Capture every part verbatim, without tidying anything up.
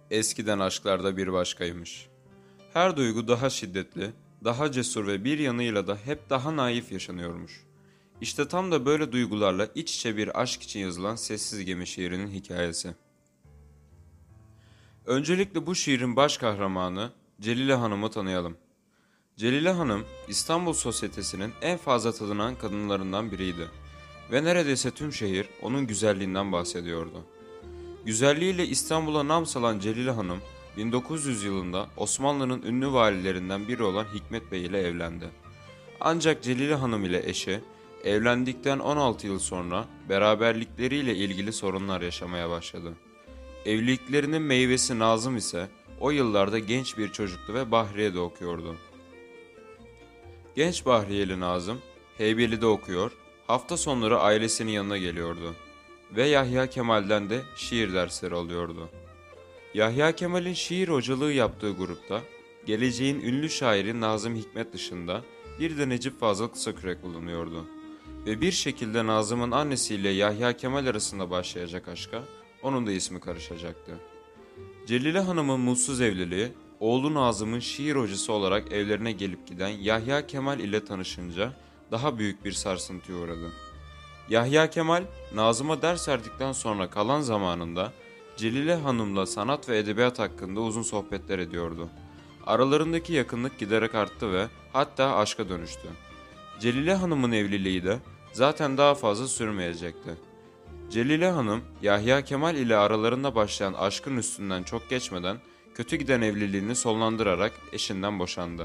Eskiden aşklarda bir başkaymış. Her duygu daha şiddetli, daha cesur ve bir yanıyla da hep daha naif yaşanıyormuş. İşte tam da böyle duygularla iç içe bir aşk için yazılan Sessiz Gemi şiirinin hikayesi. Öncelikle bu şiirin baş kahramanı Celile Hanım'ı tanıyalım. Celile Hanım, İstanbul sosyetesinin en fazla tanınan kadınlarından biriydi. Ve neredeyse tüm şehir onun güzelliğinden bahsediyordu. Güzelliğiyle İstanbul'a nam salan Celile Hanım, bin dokuz yüz yılında Osmanlı'nın ünlü valilerinden biri olan Hikmet Bey ile evlendi. Ancak Celile Hanım ile eşi, evlendikten on altı yıl sonra beraberlikleriyle ilgili sorunlar yaşamaya başladı. Evliliklerinin meyvesi Nazım ise o yıllarda genç bir çocuktu ve Bahriye'de okuyordu. Genç Bahriyeli Nazım, Heybeli'de okuyor, hafta sonları ailesinin yanına geliyordu. Ve Yahya Kemal'den de şiir dersleri alıyordu. Yahya Kemal'in şiir hocalığı yaptığı grupta, geleceğin ünlü şairi Nazım Hikmet dışında bir de Necip Fazıl Kısakürek bulunuyordu. Ve bir şekilde Nazım'ın annesiyle Yahya Kemal arasında başlayacak aşka, onun da ismi karışacaktı. Celile Hanım'ın mutsuz evliliği, oğlu Nazım'ın şiir hocası olarak evlerine gelip giden Yahya Kemal ile tanışınca daha büyük bir sarsıntıya uğradı. Yahya Kemal, Nazım'a ders verdikten sonra kalan zamanında Celile Hanım'la sanat ve edebiyat hakkında uzun sohbetler ediyordu. Aralarındaki yakınlık giderek arttı ve hatta aşka dönüştü. Celile Hanım'ın evliliği de zaten daha fazla sürmeyecekti. Celile Hanım, Yahya Kemal ile aralarında başlayan aşkın üstünden çok geçmeden kötü giden evliliğini sonlandırarak eşinden boşandı.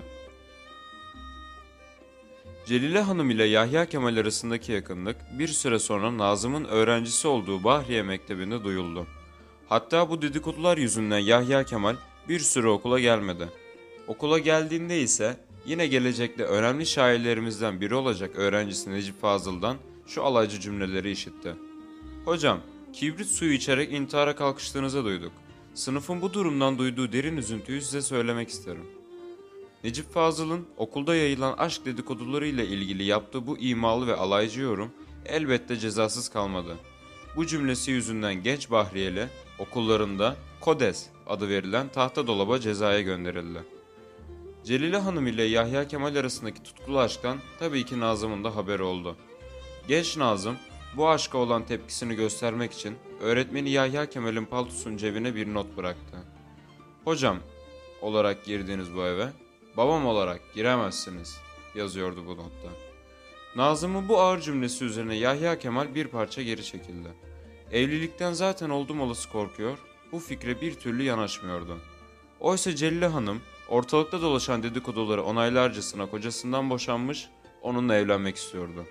Celile Hanım ile Yahya Kemal arasındaki yakınlık bir süre sonra Nazım'ın öğrencisi olduğu Bahriye Mektebi'nde duyuldu. Hatta bu dedikodular yüzünden Yahya Kemal bir süre okula gelmedi. Okula geldiğinde ise yine gelecekte önemli şairlerimizden biri olacak öğrencisi Necip Fazıl'dan şu alaycı cümleleri işitti. "Hocam, kibrit suyu içerek intihara kalkıştığınızı duyduk. Sınıfın bu durumdan duyduğu derin üzüntüyü size söylemek isterim." Necip Fazıl'ın okulda yayılan aşk dedikoduları ile ilgili yaptığı bu imalı ve alaycı yorum elbette cezasız kalmadı. Bu cümlesi yüzünden genç Bahriyeli okullarında Kodes adı verilen tahta dolaba cezaya gönderildi. Celile Hanım ile Yahya Kemal arasındaki tutkulu aşktan tabii ki Nazım'ın da haberi oldu. Genç Nazım bu aşka olan tepkisini göstermek için öğretmeni Yahya Kemal'in paltosunun cebine bir not bıraktı. "Hocam olarak girdiniz bu eve, babam olarak giremezsiniz," yazıyordu bu notta. Nazım'ın bu ağır cümlesi üzerine Yahya Kemal bir parça geri çekildi. Evlilikten zaten oldum olası korkuyor, bu fikre bir türlü yanaşmıyordu. Oysa Celile Hanım ortalıkta dolaşan dedikoduları onaylarcasına kocasından boşanmış, onunla evlenmek istiyordu.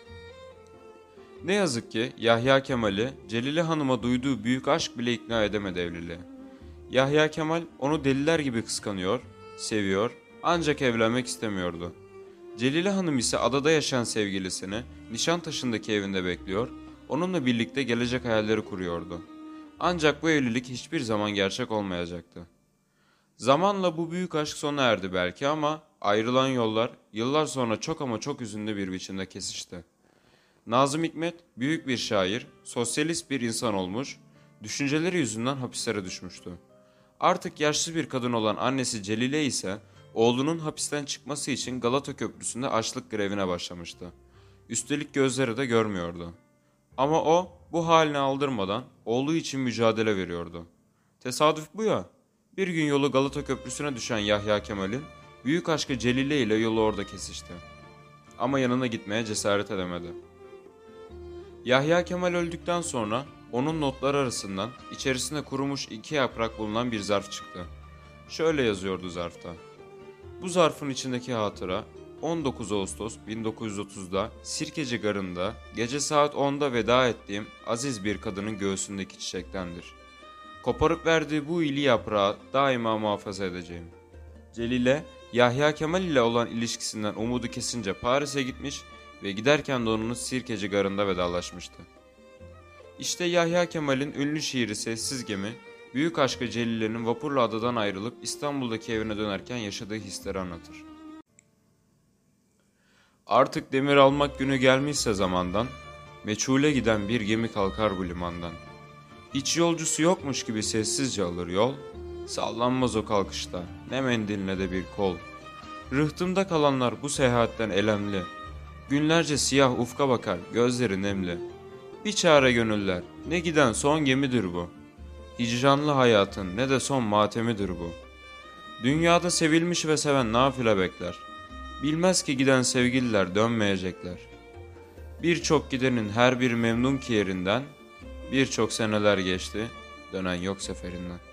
Ne yazık ki Yahya Kemal'i Celile Hanım'a duyduğu büyük aşk bile ikna edemedi evliliğe. Yahya Kemal onu deliler gibi kıskanıyor, seviyor ancak evlenmek istemiyordu. Celile Hanım ise adada yaşayan sevgilisini Nişantaşı'ndaki evinde bekliyor, onunla birlikte gelecek hayalleri kuruyordu. Ancak bu evlilik hiçbir zaman gerçek olmayacaktı. Zamanla bu büyük aşk sona erdi belki ama ayrılan yollar yıllar sonra çok ama çok üzünlü bir biçimde kesişti. Nazım Hikmet büyük bir şair, sosyalist bir insan olmuş, düşünceleri yüzünden hapislere düşmüştü. Artık yaşlı bir kadın olan annesi Celile ise oğlunun hapisten çıkması için Galata Köprüsü'nde açlık grevine başlamıştı. Üstelik gözleri de görmüyordu. Ama o bu haline aldırmadan oğlu için mücadele veriyordu. Tesadüf bu ya. Bir gün yolu Galata Köprüsü'ne düşen Yahya Kemal'in büyük aşkı Celile ile yolu orada kesişti. Ama yanına gitmeye cesaret edemedi. Yahya Kemal öldükten sonra onun notları arasından içerisinde kurumuş iki yaprak bulunan bir zarf çıktı. Şöyle yazıyordu zarfta. Bu zarfın içindeki hatıra on dokuz Ağustos bin dokuz yüz otuzda Sirkeci Garı'nda gece saat onda veda ettiğim aziz bir kadının göğsündeki çiçektendir. Koparıp verdiği bu iyili yaprağı daima muhafaza edeceğim. Celile, Yahya Kemal ile olan ilişkisinden umudu kesince Paris'e gitmiş ve giderken de onunla Sirkeci Garı'nda vedalaşmıştı. İşte Yahya Kemal'in ünlü şiiri Sessiz Gemi, büyük aşkı Celile'nin vapurla adadan ayrılıp İstanbul'daki evine dönerken yaşadığı hisleri anlatır. Artık demir almak günü gelmişse zamandan, meçhule giden bir gemi kalkar bu limandan. Hiç yolcusu yokmuş gibi sessizce alır yol, Sallanmaz o kalkışta, ne mendil ne de bir kol. Rıhtımda kalanlar bu seyahatten elemli. Günlerce siyah ufka bakar, gözleri nemli. Bir çare gönüller, ne giden son gemidir bu. Hicranlı hayatın ne de son matemidir bu. Dünyada sevilmiş ve seven nafile bekler. Bilmez ki giden sevgililer dönmeyecekler. Birçok gidenin her bir memnun ki yerinden, birçok seneler geçti, dönen yok seferinden.